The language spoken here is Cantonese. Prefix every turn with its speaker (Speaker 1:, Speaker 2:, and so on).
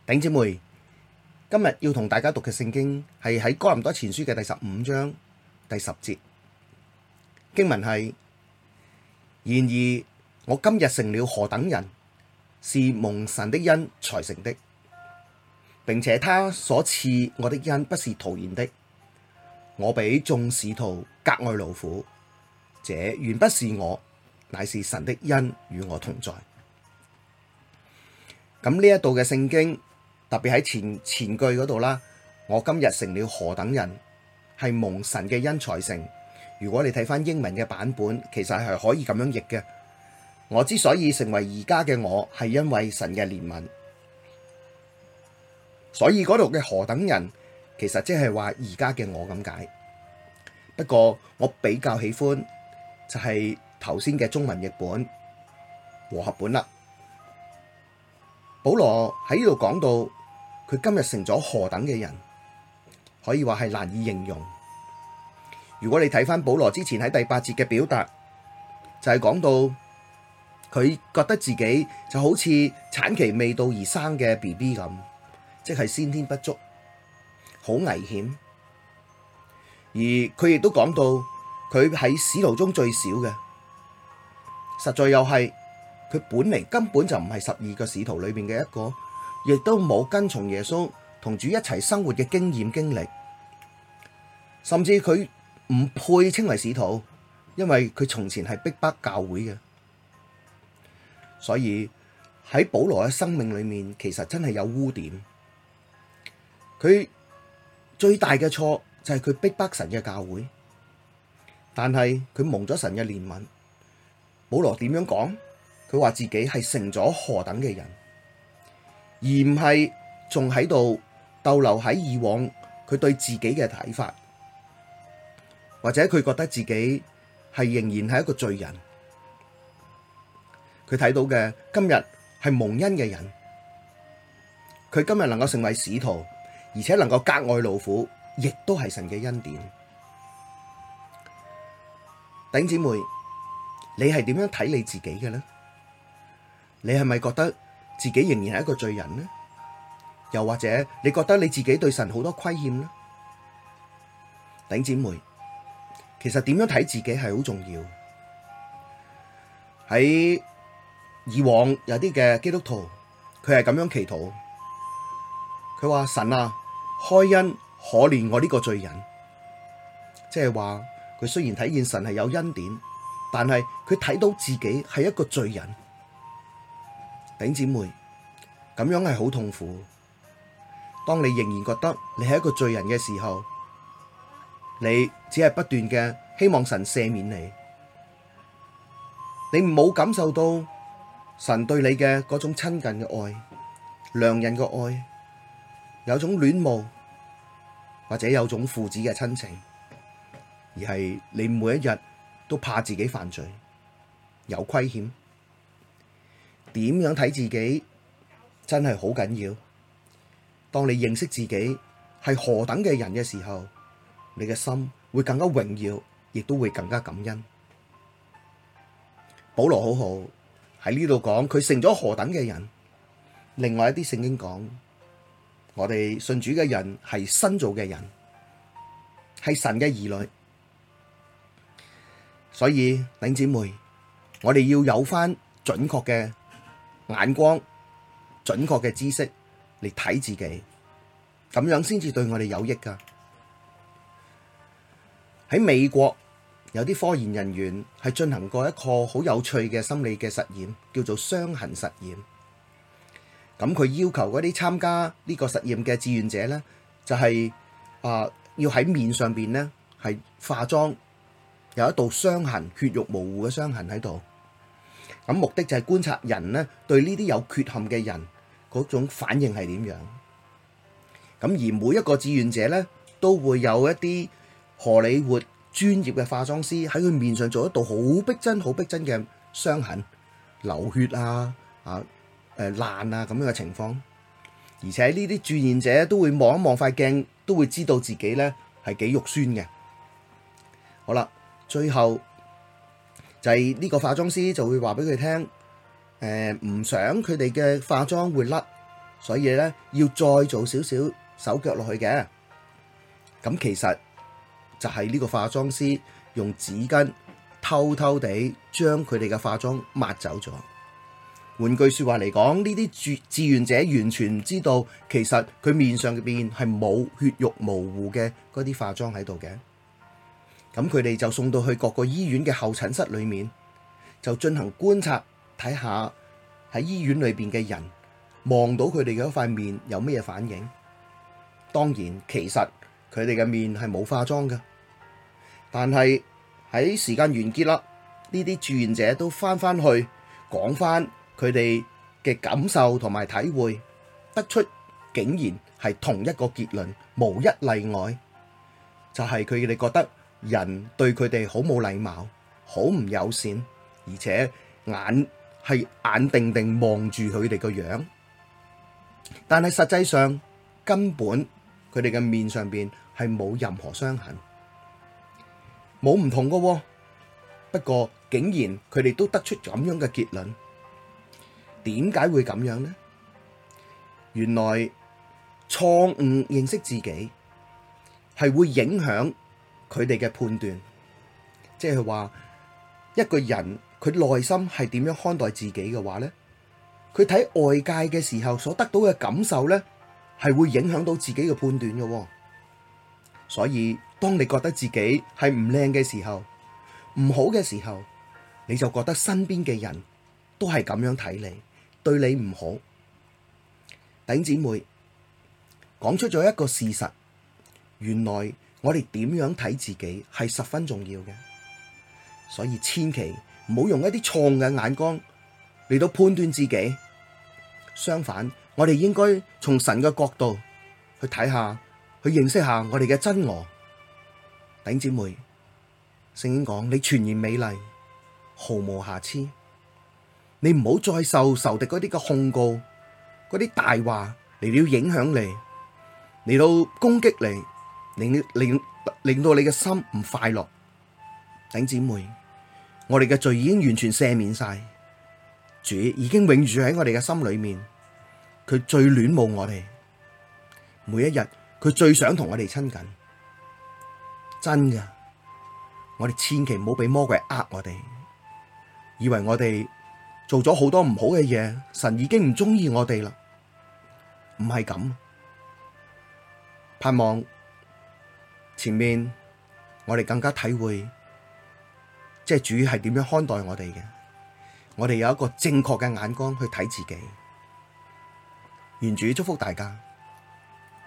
Speaker 1: 弟兄姊妹，今日要同大家讀嘅聖經係喺哥林多前書嘅第15章第10節，經文係：然而我今日成了何等人，是蒙神的恩才成的，並且他所賜我的恩不是徒然的。我比眾使徒格外勞苦，這原不是我，乃是神的恩與我同在。咁呢一度嘅聖經特別喺前句嗰度啦，我今日成了何等人，係蒙神嘅恩才成。如果你睇翻英文嘅版本，其實係可以咁樣譯嘅。我之所以成為而家嘅我，係因為神嘅憐憫。所以嗰度嘅何等人，其實即係話而家嘅我咁解。不過我比較喜歡就係頭先嘅中文譯本和合本啦。保羅喺呢度講到佢今日成咗何等嘅人，可以話係難以形容。如果你睇翻保羅之前喺第8節嘅表達，就係講到佢覺得自己就好似產期未到而生嘅 BB 咁，即係先天不足，好危險。而佢亦都講到佢喺使徒中最少嘅，實在又係佢本嚟根本就唔係12個使徒裏面嘅一個，亦都冇跟從耶穌同主一齊生活嘅經驗經歷，甚至佢唔配稱為使徒，因為佢從前係逼迫教會嘅。所以喺保羅嘅生命裏面，其實真係有污點。佢最大嘅錯就係佢逼迫神嘅教會，但係佢蒙咗神嘅憐憫。保羅點樣講？佢話自己係成咗何等嘅人，而唔係仲喺度逗留喺以往佢對自己嘅睇法，或者佢覺得自己係仍然係一個罪人。佢睇到嘅今日係蒙恩嘅人，佢今日能夠成為使徒，而且能夠格外勞苦，亦都係神嘅恩典。弟兄姊妹，你係點樣睇你自己嘅呢？你係咪覺得自己仍然係一個罪人呢？又或者你覺得你自己對神好多虧欠呢？弟兄姊妹，其實點樣睇自己係好重要。喺以往有啲嘅基督徒，佢係咁樣祈禱，佢話神啊，開恩可憐我呢個罪人。即係話佢雖然睇見神係有恩典，但係佢睇到自己係一個罪人。弟兄姊妹，咁樣係好痛苦。當你仍然覺得你係一個罪人嘅時候，你只係不斷嘅希望神赦免你，你冇感受到神對你嘅嗰種親近嘅愛、良人嘅愛，有種戀慕，或者有種父子嘅親情，而係你每一日都怕自己犯罪，有虧欠。點樣睇自己真係好緊要。當你認識自己係何等嘅人嘅時候，你嘅心會更加榮耀，亦都會更加感恩。保羅好好喺呢度講佢成咗何等嘅人。另外一啲聖經講，我哋信主嘅人係新造嘅人，係神嘅兒女。所以弟兄姊妹，我哋要有返準確嘅眼光，準確嘅知識嚟睇自己，咁樣先至對我哋有益噶。喺美國有啲科研人員係進行過一個好有趣嘅心理嘅實驗，叫做傷痕實驗。咁佢要求嗰啲參加呢個實驗嘅志願者呢，就係要喺面上邊呢係化妝，有一道傷痕，血肉模糊嘅傷痕喺度。咁目的就係觀察人呢對呢啲有缺陷嘅人嗰種反應係點樣。咁而每一個志願者呢，都會有一啲荷里活專業嘅化妝師喺佢面上做一道好逼真、好逼真嘅傷痕，流血啊、爛啊咁樣嘅情況。而且呢啲志願者都會望一望塊鏡，都會知道自己呢係幾肉酸嘅。好啦，最後就係呢個化妝師就會話俾佢聽，唔想佢哋嘅化妝會甩， 所以咧要再做少少手腳落去嘅。咁其實就係呢個化妝師用紙巾偷偷地將佢哋嘅化妝抹走咗。換句說話嚟講，呢啲志願者完全唔知道，其實佢面上邊係冇血肉模糊嘅嗰啲化妝喺度嘅。咁佢哋就送到去各個醫院嘅候診室裏面，就進行觀察，睇下喺醫院裏邊嘅人望到佢哋嘅一塊面有咩反應。當然，其實佢哋嘅面係冇化妝嘅，但係喺時間完結啦，呢啲志願者都翻去講翻佢哋嘅感受同埋體會，得出竟然係同一個結論，無一例外，就係佢哋覺得人對佢哋好冇禮貌，好唔友善，而且眼定定望住佢哋個樣，但係實際上根本佢哋嘅面上邊係冇任何傷痕，冇唔同㗎喎。不過竟然佢哋都得出咁樣嘅結論，點解會咁樣呢？原來錯誤認識自己係會影響佢哋嘅判斷，即係話一個人佢內心係點樣看待自己嘅話呢，佢睇外界嘅時候所得到嘅感受呢，係會影響到自己嘅判斷嘅。所以當你覺得自己係唔靚嘅時候，唔好嘅時候，你就覺得身邊嘅人都係咁樣睇你，對你唔好。弟兄姊妹，講出咗一個事實，原來我哋點樣睇自己係十分重要嘅，所以千祈唔好用一啲錯誤嘅眼光嚟到判斷自己。相反，我哋應該從神嘅角度去睇下，去認識下我哋嘅真我。弟兄姊妹，聖經講你全然美麗，毫無瑕疵。你唔好再受仇敵嗰啲嘅控告，嗰啲大話嚟到影響你，嚟到攻擊你，令到你嘅心唔快樂。弟兄姊妹，我哋嘅罪已經完全赦免晒，主已經永住喺我哋嘅心裏面，佢最戀慕我哋，每一日佢最想同我哋親近。真㗎，我哋千祈唔好俾魔鬼呃我哋，以為我哋做咗好多唔好嘅嘢，神已經唔中意我哋啦。唔係咁，盼望前面我哋更加體會，即係主係點樣看待我哋嘅，我哋有一個正確嘅眼光去睇自己。願主祝福大家。